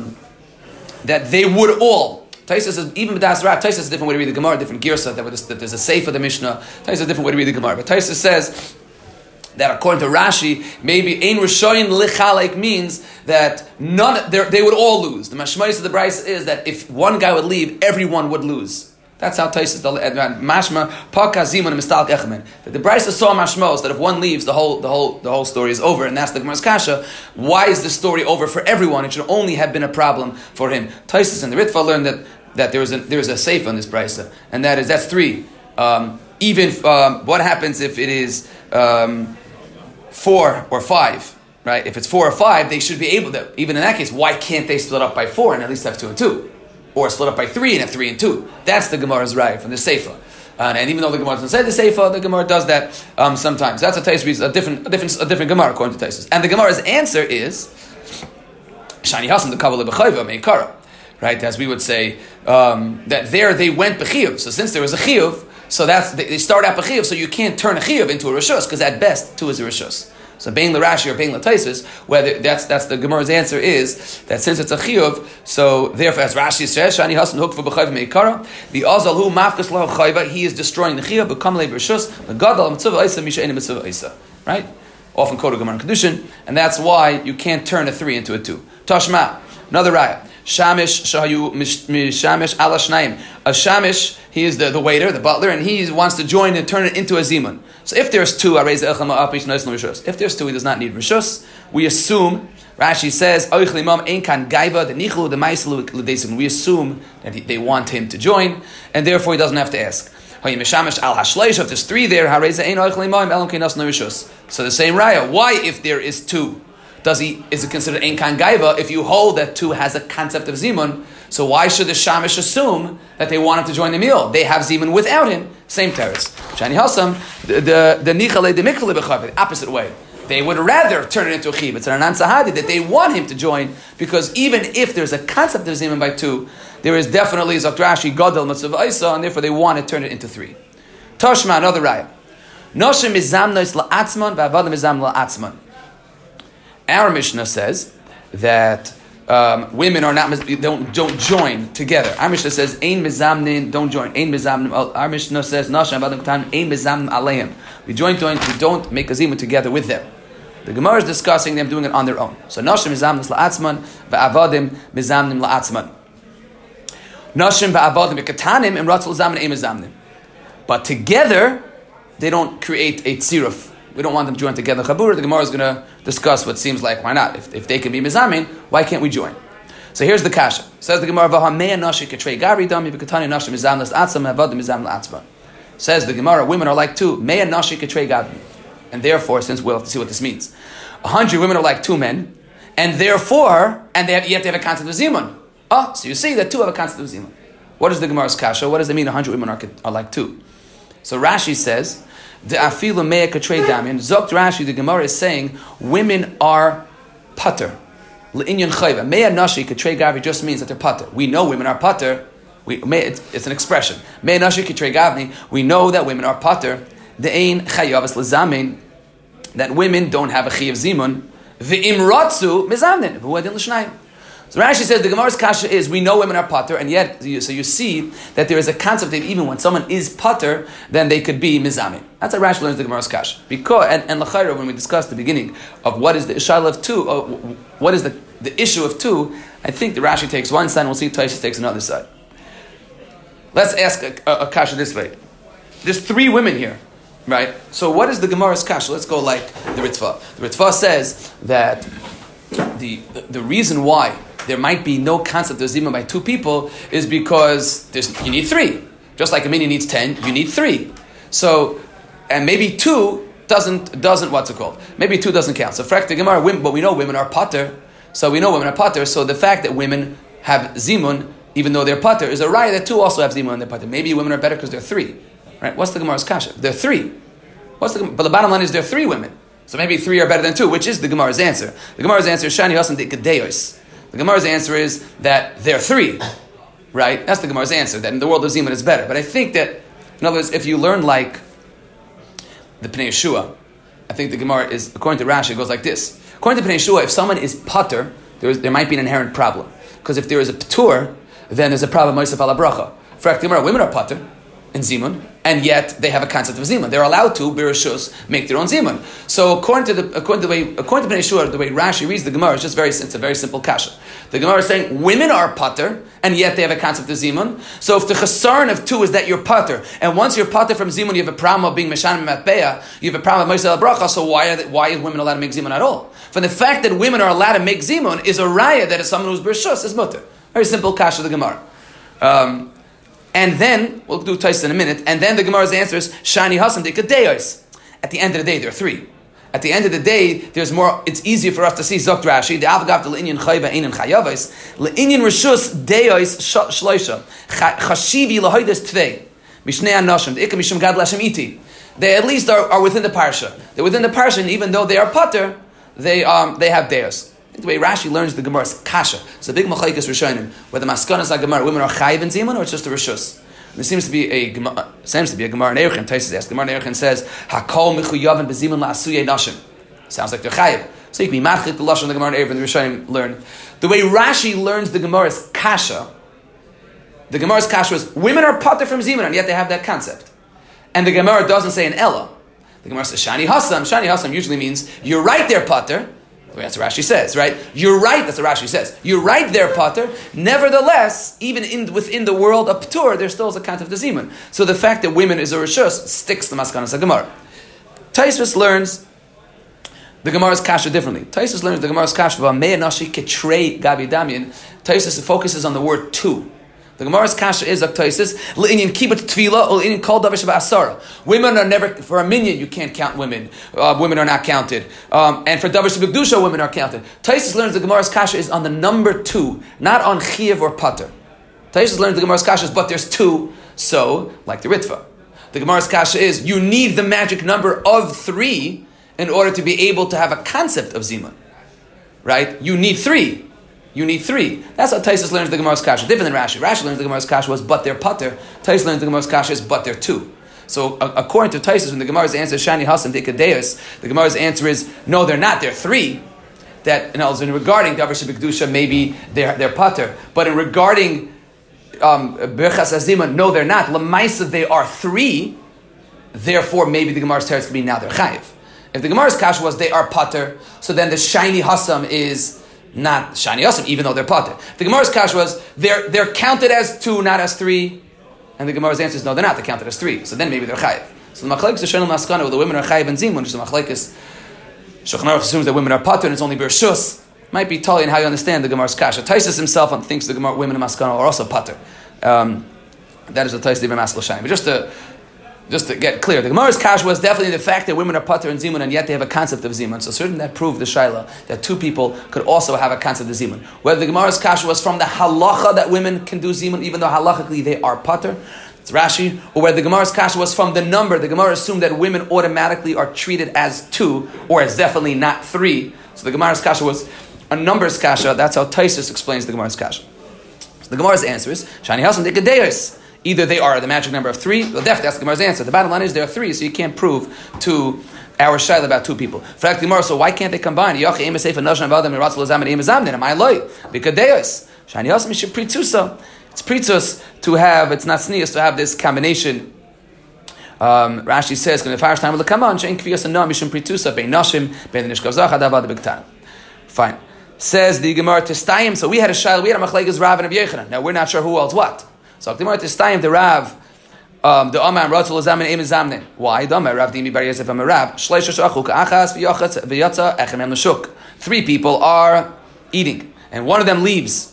would all. Taisus says even b'das Rashi. Taisus is a different way to read the Gemara, different girsa. That there's a seif of the Mishnah. Taisus is a different way to read the Gemara. But Taisus says that according to Rashi, maybe ein risha'in lechalik means that they would all lose. The mashmais of the Brisa is that if one guy would leave, everyone would lose. That's how Taisus mashma paka zimun mistalk echmen. That the Brisa saw mashmos that if one leaves, the whole story is over, and that's the Gemara's kasha. Why is the story over for everyone? It should only have been a problem for him. Taisus and the Ritva learned that there is a seif on this Brisa, and that's three. What happens if it is 4 or 5? Right? If it's 4 or 5, they should be able to. Even in that case, why can't they split up by 4 and at least have 2 and 2? Or split up by 3 and have 3 and 2. That's the Gemara's right from the Seifa. And even though the Gemara doesn't say the Seifa, the Gemara does that sometimes. That's a different Gemara according to Taisus. And the Gemara's answer is Shani Hasan the Kabbalah B'chayva Meikara. Right? As we would say, that there they went B'chiyuv. So since there was a Chiyuv, so they start out B'chiyuv, so you can't turn a Chiyuv into a Rishus, because at best 2 is a Rishus. So Bein L'Rashi or Bein L'Taisus, whether that's the Gemara's answer is that since it's a chiyuv, so therefore as Rashi says, Shani Hasan Hukva B'Chayv Meikara, the Azal Hu Mafkas Lo Chayva, he is destroying the chiyuv, B'Kam Le B'Rishus, the Gadol Mitzvah Isa Misha Ena Mitzvah Isa. Right? Often quoted Gemara and Kedushin, and that's why you can't turn a 3 into a 2. Tashma, another raya. Shamish Shahayu Shamish Ala Shnaim. A Shamish, he is the waiter, the butler, and he wants to join and turn it into a zimun. So if there's 2, if there's 2, he does not need rishus. We assume, Rashi says, we assume that they want him to join, and therefore he doesn't have to ask. If there's 3 there, so the same raya. Why if there is 2? Is it considered ein kan gaiva if you hold that 2 has a concept of zimun? So why should the shamish assume that they want him to join the meal? They have zimun without him. Same teretz. Shani Hassam, the nichale the mikvale b'chav, the opposite way. they would rather turn it into a chiv. It's an anan sahadi that they want him to join, because even if there's a concept of zimun by 2, there is definitely Zok Rashi gadol matzav isa, and therefore they want to turn it into 3. Toshma, another raya. Noshim mizamnos la'atzman va'avadim mizam la'atzman. Our Mishnah says that women are not don't join together. Our Mishnah says ein mizamnin, don't join. Ein mizamnim. Our Mishnah says nashim avadim katan ein mizamnim aleim. We don't make a zimun together with them. The Gemara is discussing them doing it on their own. So nashim mizamnis la'atzman va'avadim mizamnim la'atzman. Nashim va'avadim katanim imratzul zamin ein mizamnim. But together they don't create a tziruf. We don't want them to join together. Chabur, the Gemara is going to discuss what seems like, why not? If they can be mizamin, why can't we join? So here's the kasha. Says the Gemara, says the Gemara, women are like 2. And therefore, since we'll have to see what this means, 100 women are like 2 men, and therefore, yet they have a concept of zimun. So you see that 2 have a concept of zimun. What is the Gemara's kasha? What does it mean 100 women are like 2? So Rashi says, the afilu mea katrei damian. Zokt Rashi, the Gemara is saying women are pater. Le'inyan chayva. Mea nashi katrei gavni just means that they're pater. We know women are pater. It's an expression. Mea nashi katrei gavni. We know that women are pater. De'ein chayavas lezamin. That women don't have a chayav zimun. Ve'im ratzu mezamnin. V'uadin l'shnayim. So Rashi says the Gemara's kasha is, we know women are pater, and yet, so you see that there is a concept that even when someone is pater, then they could be mizamin. That's how Rashi learns the Gemara's kasha. Because, and l'chayra, when we discussed the beginning of what is the ishal of 2, what is the issue of 2, I think the Rashi takes one side, and we'll see Tosfos takes another side. Let's ask a kasha this way. There's 3 women here, right? So what is the Gemara's kasha? Let's go like the Ritva. The Ritva says that the reason why there might be no concept of zimun by 2 people is because you need 3. Just like a minion needs 10, you need 3. So, and maybe 2 doesn't what's it called? Maybe 2 doesn't count. So, frak the Gemara, but we know women are pater. So we know women are pater. So the fact that women have zimun, even though they're pater, is a raya that 2 also have zimun and they're pater. Maybe women are better because they're 3. Right? What's the Gemara's kasha? They're 3. But the bottom line is they're 3 women. So maybe 3 are better than 2, which is the Gemara's answer. The Gemara's answer is shani hasan de gedeyos. The Gemara's answer is that they're 3, right? That's the Gemara's answer, that in the world of zimun it's better. But I think that, in other words, if you learn like the Pnei Yeshua, I think the Gemara is, according to Rashi, it goes like this. According to Pnei Yeshua, if someone is pater, there might be an inherent problem. Because if there is a ptur, then there's a problem, Mosef ala bracha. For the Gemara, women are pater in zimun, and yet they have a concept of zimun. They're allowed to, birashus, make their own zimun. So according to Pnei Yeshua, the way Rashi reads the Gemara, it's a very simple kasha. The Gemara is saying women are pater, and yet they have a concept of zimun. So if the chesaron of 2 is that you're pater, and once you're pater from zimun, you have a problem of being meshanim matbeya, you have a problem of moshe bracha. So why are women allowed to make zimun at all? For the fact that women are allowed to make zimun is a raya that is someone who's birashus is mutter. Very simple kasha of the Gemara. And then, we'll do Tosfos in a minute, and then the Gemara's answer is, Shani Hasan de Kadeyos. At the end of the day, there are 3. At the end of the day, there's more, it's easier for us to see Zokt Rashi, the Avgav to Le'inyan Chayva Einan Chayavos, Le'inyan Rishus Deyos Shloisha, Chashivi Lahoides Tvei, Mishnei Anoshim, the Ikam Mishum Gad Lashem Iti. They at least are within the Parsha. They're within the Parsha, and even though they are pater, they have Deyos. The way Rashi learns the Gemara's kasha. It's a big machlekes rishonim, whether maskanas Gemara, women are chayiv in zimun, or it's just a rishus. There seems to be a Gemara in Erechem. Tosfos asks, the Gemara in Erechem says, "Hakol mechuyavim bezimun la'asuyei nashim." Sounds like they're chayiv. So you can be machlik the lashon the Gemara in Erechem. The rishonim learn the way Rashi learns the Gemara's kasha. The Gemara's kasha is women are pater from zimun, and yet they have that concept. And the Gemara doesn't say an ella. The Gemara says shani hasam. Shani hasam usually means you're right there, pater. That's what Rashi says, right? You're right, that's what Rashi says. You're right there, pater. Nevertheless, even within the world of ptur, there still is a concept of zimun. So the fact that women is a rishus sticks to maskanas Gemara. Tosfos learns the Gemara's kasha differently. Tosfos learns the Gemara's kasha about mea nashi ketrei gabi damian. Tosfos focuses on the word 2. The Gemara's kasha is Tosfos le'inyan kibbut tefila or le'inyan kol davar sheba'asara. Women are never, for a minyan you can't count women. Women are not counted. And for davar sheba'kedusha women are counted. Tosfos learns the Gemara's kasha is on the number 2, not on chiyav or pater. Tosfos learns the Gemara's kasha is, but there's 2, so like the Ritva. The Gemara's kasha is you need the magic number of 3, in order to be able to have a concept of zimun. Right? You need three. That's how Taisus learns the Gemara's kasha. Different than Rashi. Rashi learns the Gemara's kasha was but they're pater. Taisus learns the Gemara's kasha is but they're two. So according to Taisus, when the Gemara's answer is Shani Hasam Dikadeus, the Gemara's answer is no, they're not. They're three. That regarding Davar Shebekdusha, maybe they're pater. But in regarding Birchas Azima, no, they're not. Lamaisa, they are three. Therefore, maybe the Gemara's teretz could be now they're chayiv. If the Gemara's kasha was they are pater, so then the Shani Hasam is not Shani Hasam, even though they're pater. The Gemara's kasha was they're counted as two, not as three. And the Gemara's answer is no, they're not. They're counted as three. So then maybe they're chayiv. So the machlekes is Shonel Maskana, where the women are chayiv and zimun, which is the machlekes. Shulchan Aruch assumes that women are pater and it's only bershus. Might be totally in how you understand the Gemara's kasha. Taisus himself thinks the Gemara, women in Maskana are also pater. That is the Taisus Ibn Maskal Shayim. But just to get clear, the Gemara's kasha was definitely the fact that women are pater and zimun, and yet they have a concept of zimun. So certainly that proved the shaila that two people could also have a concept of zimun. Whether the Gemara's kasha was from the halacha that women can do zimun, even though halachically they are pater, it's Rashi, or whether the Gemara's kasha was from the number. The Gemara assumed that women automatically are treated as two, or as definitely not three. So the Gemara's kasha was a numbers kasha. That's how Taisus explains the Gemara's kasha. So the Gemara's answer is Shani Hasan Dikadeus. Either they are the magic number of three, well, definitely that's the Gemara's answer. The bottom line is there are three, so you can't prove to our shayla about two people. Fact, Gemara, so why can't they combine? Am I loy? Because Shani Hasan Mishim Pritzusa. It's pritzus to have, it's not sneas to have this combination. Rashi says, "When the first time will come on, shein kviyas and no mishum pritusa bein nashim bein the nishkav zach adav the bigtan." Fine. Says the Gemara Testayim. So we had a shayla, we had a machlekes Rav and Rabbi Yechanan. Now we're not sure who else what. So the Gemara Testayim, the Rav, the Amar Ratzul Zamen Eim Zamnen. Why? The Amar Rav Dimi Bar Yosef Amar Rav Shleisha Shachuk Achas V'Yachatz V'Yatza Echem Em L'Shuk. Three people are eating, and one of them leaves.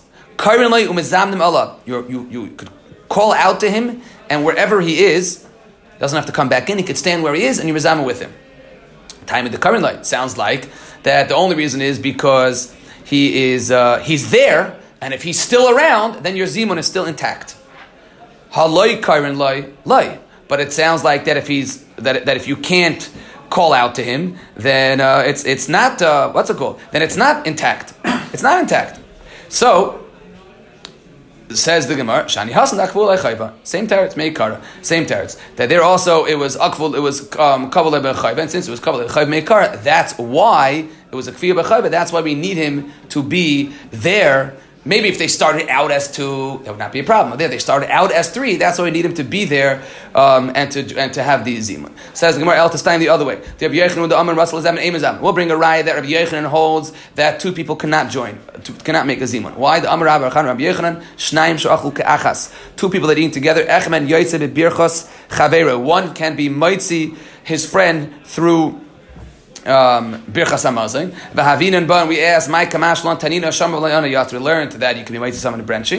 You could call out to him, and wherever he is, doesn't have to come back in. He could stand where he is, and you mizamah with him. Time of the current light sounds like that. The only reason is because he's there, and if he's still around, then your zimun is still intact. Haloi current light, but it sounds like that if if you can't call out to him, then it's not what's it called? Then it's not intact. It's not intact. So. Says the Gemara, Shani Hasan Akvul Echayva. Same teretz, Meikara. Same teretz. That there also it was Akvul, it was Kabul Echayva, and since it was Kabul Echayva Meikara, that's why it was a Kfiyah Bechayva. That's why we need him to be there. Maybe if they started out as two, that would not be a problem. There, they started out as three. That's why we need him to be there and to have the zimun. Says the Gemara El Testayim the other way. We'll bring a raya that Rabbi Yechanan holds that two people cannot join, cannot make a zimun. Why? The Amar Rabbi Yechanan Shnaim Shoachul Ke'achas. Two people that eat together. Echmen Yoytze B'Birchos Chavera. One can be Moitzi, his friend, through Birchas Hamazon. V'havinan ba, and we ask, "My kamash lan tanina shamav layana yat." We learned that you can be mighty someone in branching.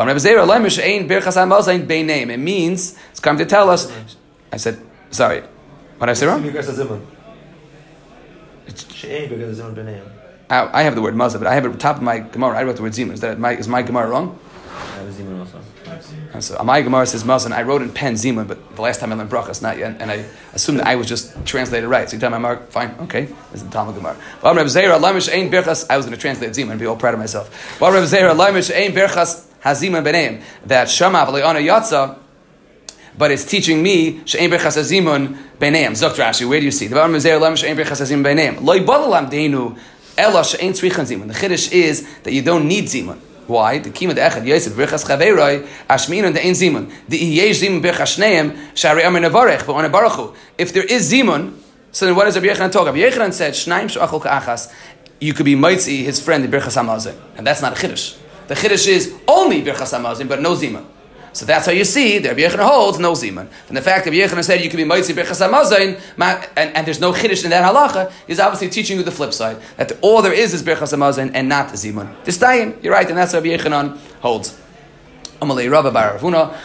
It means it's come to tell us. I said, sorry, what did I say wrong? I have the word mazah, but I have it at the top of my Gemara. I wrote the word zimun. Is my Gemara wrong? I have a zimun also. So my Gemara says mazon. I wrote in pen zimun, but the last time I learned brachas, not yet, and I assumed that I was just translated right. So you tell my mark, fine, okay. This is the Talmud Gemara. I was going to translate zimun and be all proud of myself. That shama v'le'ana yatsa, but it's teaching me she'ein birchas hazimun b'neim. Zokt Rashi, where do you see? The chiddush is that you don't need zimun. Why? The kima de'echad Yosef birchas chaveroi ashmin and de'ein zimun. The yesh zimun birchas shneim shari amar nevarech v'on baruchu. If there is zimun, so then what does Rabbi Yechanan talk? Rabbi Yechanan said shnaim she'achol ka'achas. You could be mitzi his friend in birchas hamazon, and that's not a chiddush. The chiddush is only birchas hamazon, but no zimun. So that's how you see that Rabbi Yechanan holds no zimun. And the fact that Rabbi Yechanan said you can be mitzi birchas hamazon, and there's no chiddush in that halacha, is obviously teaching you the flip side, that all there is birchas hamazon and not zimun. This time, you're right, and that's how Rabbi Yechanan holds. They came from Eretz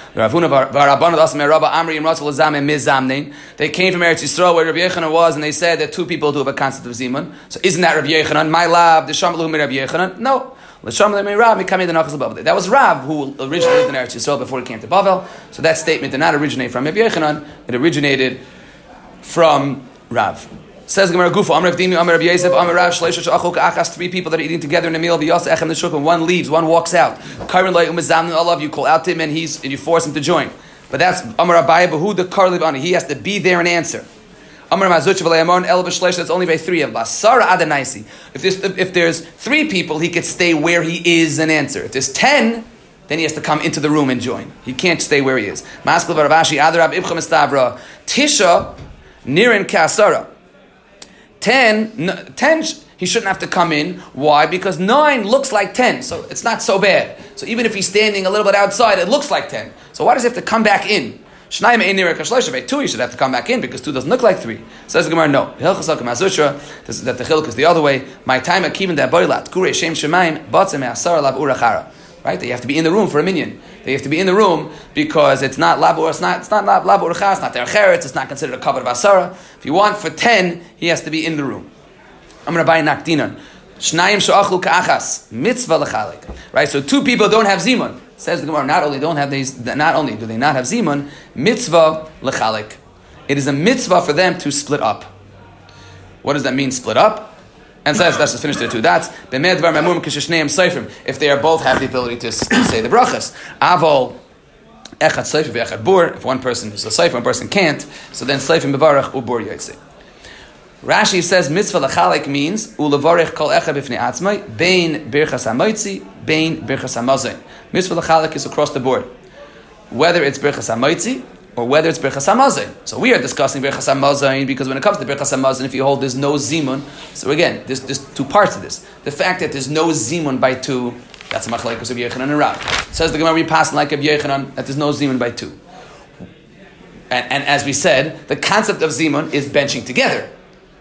Yisrael where Rabbi Yechanan was, and they said that two people do have a concept of zimun. So isn't that Rabbi Yechanan? My lab, the Shamalu Rabbi Yechanan? No. That was Rav who originally lived in Eretz Yisrael before he came to Bavel. So that statement did not originate from Rabbi Yechanan. It originated from Rav. Says Gemara Gufa, Amar Avdimi, Amar Rabbi Yosef, Amar Rav Shleisha Shachol Ka'achas. 3 people that are eating together in a meal. V'yasa Echem Neshukah. One leaves, one walks out. Karen Lei Umezamnu Alav. You call out to him and you force him to join. But that's Amar Abaye Behu the Karliv Ani. He has to be there and answer. Amar Mazuch V'Le'amon El B'Shleisha. That's only by 3 of Basara Adanaisi. If there's 3 people, he could stay where he is and answer. If there's 10, then he has to come into the room and join. He can't stay where he is. Maskil Baravashi Adarab Ibcha Mistavra Tisha Nirin Kasara. 10, he shouldn't have to come in. Why? Because 9 looks like 10, so it's not so bad. So even if he's standing a little bit outside, it looks like 10. So why does he have to come back in? 2, he should have to come back in because 2 doesn't look like 3. Says the Gemara, no. That the chiluk is the other way. My time akivin da boilat kure shem shemaim batzem asar lav urachara. Right? They have to be in the room for a minyan. They have to be in the room because it's not lav ur. It's not lav urachara. It's not their cheretz. It's not considered a cover of asara. If you want for 10, he has to be in the room. I'm going to buy nakdinan. Shnayim she'achlu ka'achas mitzvah lechalik. Right? So 2 people don't have zimun. Says the Gemara, not only do they not have zimun, mitzvah lechalik. It is a mitzvah for them to split up. What does that mean, split up? And says, let's just finish the 2 dots. If they are both have the ability to say the brachas. Avol echad seifim ve'echad bur. If one person is a seifim, one person can't, so then seifim bevarach ubur yotzei. Rashi says mitzvah lechalik means ulevarich kol echad b'fnei atzmai bein birchas hamoitzi bein birchas hamazon. Mitzvah lechalik is across the board, whether it's birchas hamoitzi or whether it's birchas hamazon. So we are discussing birchas hamazon because when it comes to birchas hamazon, if you hold there's no zimun. So again, there's 2 parts to this. The fact that there's no zimun by 2, that's a machlekes of Yechanan and Rav. Says the Gemara, we pass like of Yechanan that there's no zimun by 2. And as we said, the concept of zimun is benching together.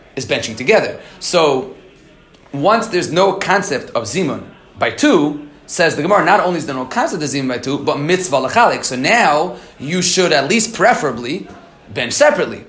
So once there's no concept of zimun by 2, says the Gemara, not only is there no concept of zimun by 2, but mitzvah lechalik. So now you should at least preferably bench separately.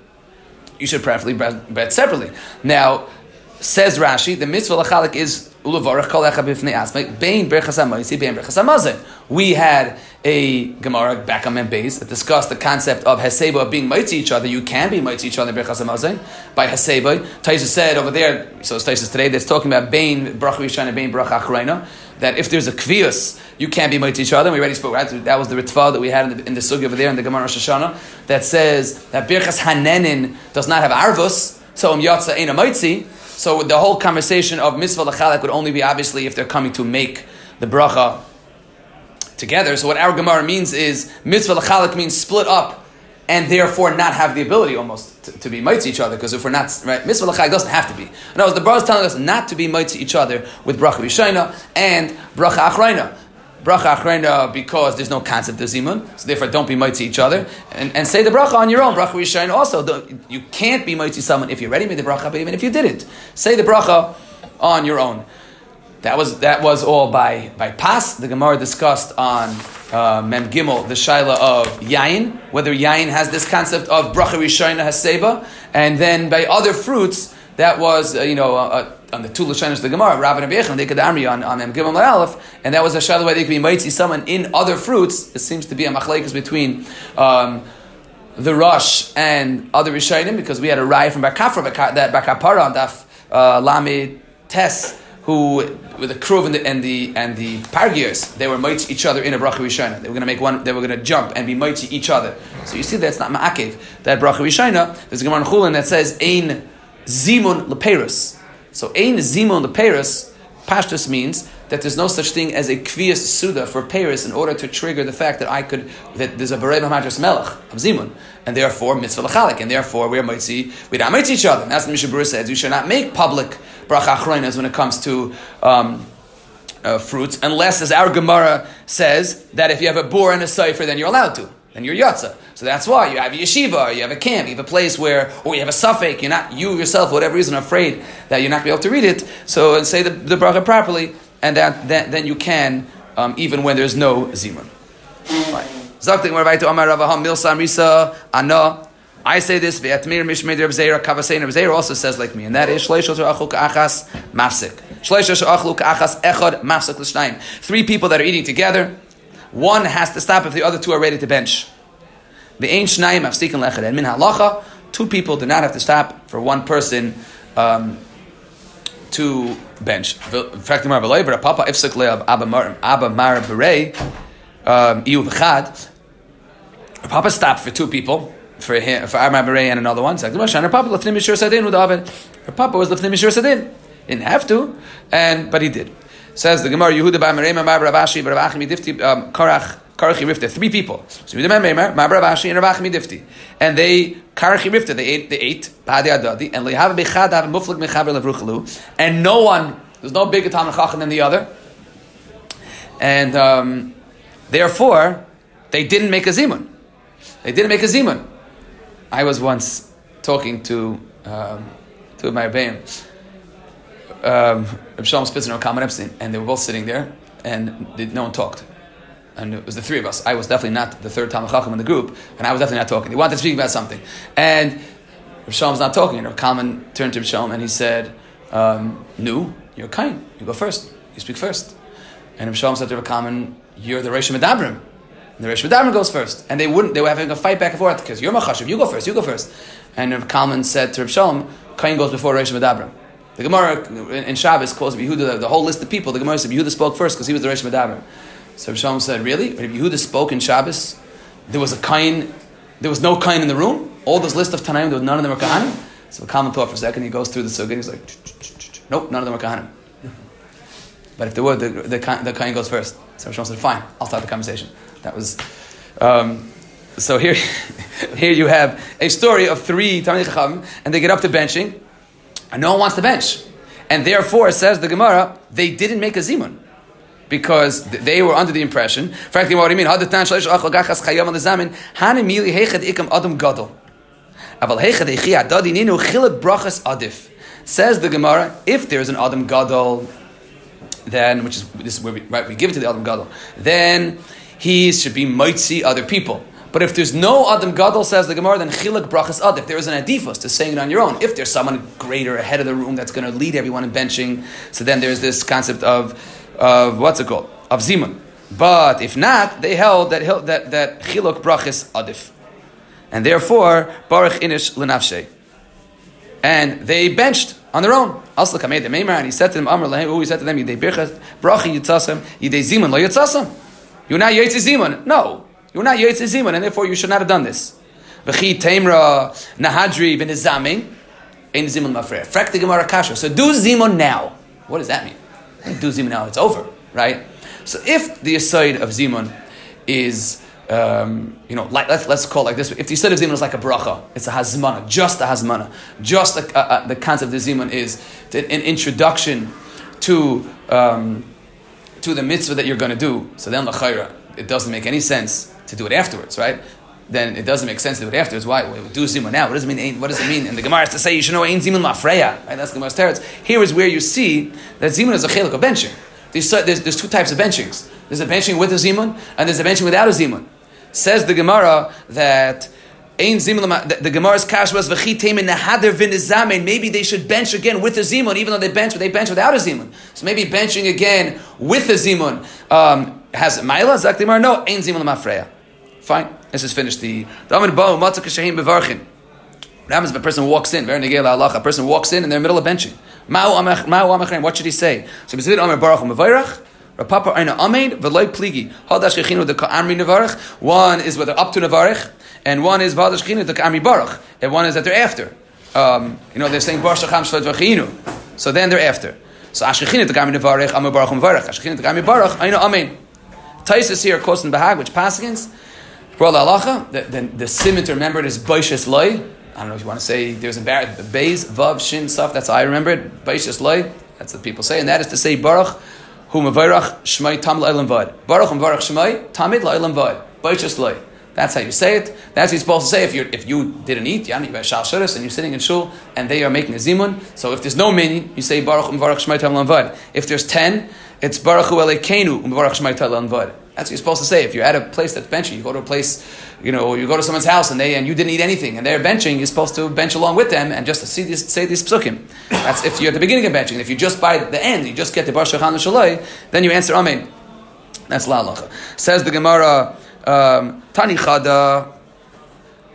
Now, says Rashi, the mitzvah lechalik is ulevarach kol echad b'fnei atzmai bein berchas hamoitzi bein berchas hamazon. We had a Gemara back on Mem Beis that discussed the concept of Haseba of being mighty each other. You can be mighty each other in Berchas Hamazon by Haseba. Taisa said over there, so it's Taisa today, that's talking about Bein Bracha Rishana, Bein Bracha Acharayna, that if there's a Kvius, you can't be mighty each other. And we already spoke, right? That was the Ritva that we had in the Sugi over there in the Gemara Rosh Hashanah that says that Berchas Hanenin does not have Arvus, so Yatza ain't a mighty. So the whole conversation of Mitzvah L'chalak would only be obviously if they're coming to make the bracha together. So what our Gemara means is Mitzvah L'chalak means split up and therefore not have the ability almost to be mighty each other. Because if we're not, right, Mitzvah L'chalak doesn't have to be. In other words, the Torah is telling us not to be mighty each other with bracha Rishayna and bracha Achrayna. Bracha Achrayna because there's no concept of zimun, so therefore don't be mighty each other, and say the bracha on your own. Bracha Rishayna also, you can't be mighty someone if you already made the bracha, but even if you didn't, say the bracha on your own. That was all by pas. The Gemara discussed on Mem Gimel the shaila of yayin, whether yayin has this concept of bracha Rishayna haseba, and then by other fruits that was on the 2 Lashonos of the Gemara, Rav and Rabbi Yechon, they could amri on Mem Gimel Aleph, and that was a shaila where they could be mighty someone in other fruits. It seems to be a machlekes between the Rosh and other Rishayim, because we had a Rai from Bar Kafra, that Bar Kapara on Daf Lamed Tes, who with the Kruv and the Pargiers, they were mighty each other in a bracha Rishayna. They were going to make one. They were going to jump and be mighty each other. So you see, that's not ma'akev. That bracha Rishayna. There's a Gemara in Chulin that says ein zimun leperus. So ein zimun leperus, pashtus means that there's no such thing as a kviyas suda for Paris in order to trigger the fact that there's a berei b'madras melech of zimun, and therefore mitzvah l'chalik, and therefore we're not mighty each other. And that's what Mishnah Berurah says. We should not make public bracha achraynas when it comes to fruits, unless, as our Gemara says, that if you have a bor and a cipher, then you're allowed to. Then you're yatsa. So that's why you have a yeshiva, or you have a camp, you have a place where, or you have a suffix, you yourself, for whatever reason, are afraid that you're not going to be able to read it, so and say the bracha properly, and then you can, even when there's no zimun. I say this, Ve'atmir Mishmei Reb Zeira, Kavasein Reb Zeira also says like me, and that is Shleisha She'achlu Ka'achas Mafsik. Shleisha She'achlu Ka'achas Echad Mafsik L'shnayim. 3 people that are eating together, one has to stop if the other 2 are ready to bench. Ve'ein Shnayim Mafsikin L'echad. And min halacha, 2 people do not have to stop for 1 person to bench. In fact, Papa ifsek le Abba Mar Berei Iu v'chad. Papa stopped for 2 people, for him, for Abba Mar Berei and another one. Papa lefnim mishur sadin with Oven. Papa was lefnim mishur sadin. Didn't have to, but he did. Says the Gemara, Yehuda bar Merema Mar Ravashi Bar Ravachi Midifti Karachi Rifta. 3 people. So Yehuda bar Merema Mar Ravashi and Ravachi Midifti, and they Karachi Rifta. They ate Badi Adadi and Lehav Bechad Have Muflik Mechaber Levruchalu, and no one. There's no bigger Talmid Chacham than the other, and therefore they didn't make a zimun. I was once talking to my Rebbeim, Reb Shalom Spitzer and Kalman Epstein, and they were both sitting there, and no one talked. And it was the 3 of us. I was definitely not the 3rd Talmid Chacham in the group, and I was definitely not talking. They wanted to speak about something. And Reb Shalom's not talking. And Reb Kalman turned to Reb Shalom, and he said, "No, you're kind. You go first. You speak first." And Reb Shalom said to Reb Kalman, "You're the Reish Medabrim." And the Reish Medabrim goes first. And they were having a fight back and forth, because you're Machashiv, you go first. And Reb Kalman said to Reb Shalom, "Kain goes before Reish Medabrim." The Gemara in Shabbos calls Yehuda, the whole list of people, the Gemara said Yehuda spoke first because he was the Reish Medabrim. So Reb Shalom said, "Really? If Yehuda spoke in Shabbos, there was no kain in the room? All this list of Tanaim, none of them were Kahanim?" So Kalman thought for a second, he goes through the Sugya, he's like, "Nope, none of them were Kahanim." But if there were, the kain goes first. So Reb Shalom said, "Fine, I'll start the conversation." That was... so here you have a story of 3 Talmidei Chacham, and they get up to benching, and no one wants to bench. And therefore, says the Gemara, they didn't make a zimun, because they were under the impression, frankly, what do you mean? Says the Gemara, if there's an Adam Gadol, then, this is where we give it to the Adam Gadol, then he should be mitzi other people. But if there's no Adam Gadol, says the Gemara, then chiluk brachas adif. There is an adifus to saying it on your own. If there's someone greater ahead of the room that's going to lead everyone in benching, so then there's this concept of what's it called? Of zimun. But if not, they held that chiluk brachas adif. And therefore, baruch inish lenafshe. And they benched on their own. Also, Kamei the Meimar, and he said to them, Amr Lahem, he said to them, Yidei birchas, brachi yitzasam, Yidei zimun, lo yitzasam. You're not Yitzi zimun. No. You're not Yitzi zimun, and therefore you should not have done this. V'chi teimra nahadri v'nizamin, ein zimun mafreya. Frak the Gemara kasha. So do zimun now. What does that mean? Do zimun now, it's over, right? So if the aside of zimun is, let's call it like this. If the aside of zimun is like a bracha, it's a hazmana, just a hazmana. Just the concept of zimun is an introduction to the mitzvah that you're going to do. So then l'chayra, it doesn't make any sense to do it afterwards, right? Then it doesn't make sense to do it afterwards. Why? We do zimun now. What does it mean? What does it mean? And the Gemara has to say you should know ein zimun mafreya. Right? That's the Gemara's teretz. Here is where you see that zimun is a chelik of benching. There's 2 types of benchings. There's a benching with a zimun, and there's a benching without a zimun. Says the Gemara that ein zimun. The Gemara's kash was v'chi teimin nahader v'nizamen. Maybe they should bench again with a zimun, even though they bench without a zimun. So maybe benching again with a zimun has ma'ila. Zak the Gemara, no ein zimun mafreya. Fine. Let's just finish the Amid Bo Matzah Kashahim Bevarchin. What happens if a person walks in? Very negel halacha. A person walks in and they're in the middle of benching. What should he say? So B'Zvid Amar Baruch U'Mevayrach. Rapapa Aina Ameid V'Loi Pligi. Hadash Chechinu the Ka'amri Nevarach. One is whether up to Nevarach, and one is V'Hadash Chechinu the Ka'amri Baruch, and one is that they're after. They're saying Baruch Shacham Shvat V'Chinu. So then they're after. So Ashchechinu the Ka'amri Nevarach Amar Baruch U'Mevayrach. Ashchechinu the Ka'amri Baruch Aina Ameid. Taisus here quotes in Bahag, which passings. Bro la halacha, the simon to remember it is Baishas Loi. I don't know if you want to say there's a Beis, Vav, Shin, stuff. That's how I remember it. Baishas Loi. That's what people say, and that is to say Baruch Hu Mevayrach Shmai Tamid La'Olam Vad. Baruch Hu Mevayrach Shmai Tamid La'Olam Vad. Baishas Loi. That's how you say it. That's what you're supposed to say if you didn't eat. You have Shal Shuras and you're sitting in shul and they are making a zimun. So if there's no minyan, you say Baruch Hu Mevayrach Shmai Tamid La'Olam Vad. If there's 10, it's Baruch Hu Elokeinu Mevayrach Shmai Tamid La'Olam Vad. That's what you're supposed to say. If you're at a place that's benching, you go to a place, you go to someone's house and you didn't eat anything and they're benching, you're supposed to bench along with them and just say these psukim. That's if you're at the beginning of benching. If you just by the end, you just get the Bar Shachan Shaloi, then you answer Amen. That's la halacha. Says the Gemara, Tani Chada,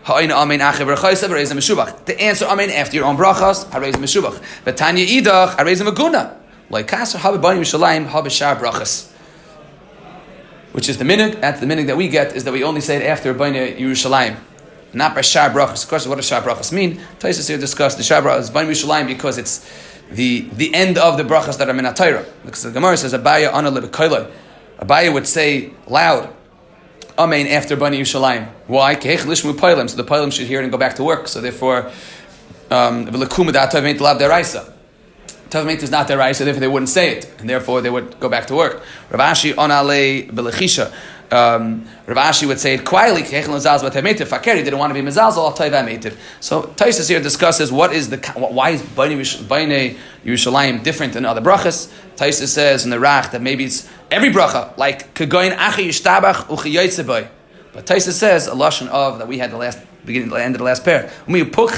Ha'ina amen acher b'rechaisa v'reizim meshubach. To answer amen after your own brachas, hareizim meshubach. V'tanya idach hareizim aguna. Like kasher habebanim Yerushalayim habeshar brachas. Which is the minhag. That's the minhag that we get, is that we only say it after B'nai Yerushalayim, not by shar brachas. Of course, what does shar brachas mean? Taisus here discussed the shar brachas B'nai Yerushalayim because it's the end of the brachas that are min HaTorah. Because the Gemara says Abaya ana lebekoiloi. Abaya would say loud amen after B'nai Yerushalayim. Why? Kehech lishmu poilim. So the poilim should hear it and go back to work. So therefore, v'lekum da tav meint lav deraisa. Tav meint is not deraisa, so therefore they wouldn't say it, and therefore they would go back to work. Rav Ashi onale belechisha. Rav Ashi would say it quietly. Kehech l'zaz b'tav fakeri didn't want to be mezalzel al tav meitiv. So Taisus here discusses why is B'nai Yerushalayim different than other brachas. Taisus says in the Rach that maybe it's every bracha, like kegoyin achi yishtabach uchiyotzebay. But Taisus says a lashon of that we had the end of the last pair. And that's called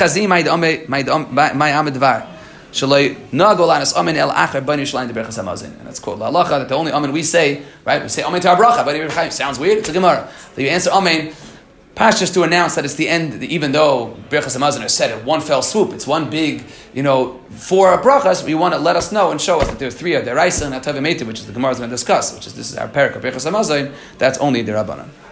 la halacha, that the only amen we say, right? We say amen to our bracha. Sounds weird. It's a Gemara. So you answer amen. Just to announce that it's the end, even though Birchas Hamazon is said in one fell swoop, it's one big, four brachas. We want to let us know and show us that there are three of Deraisa and Atav Meitiv, which is the Gemara is going to discuss, this is our parak of Birchas Hamazon. That's only the Rabbanan.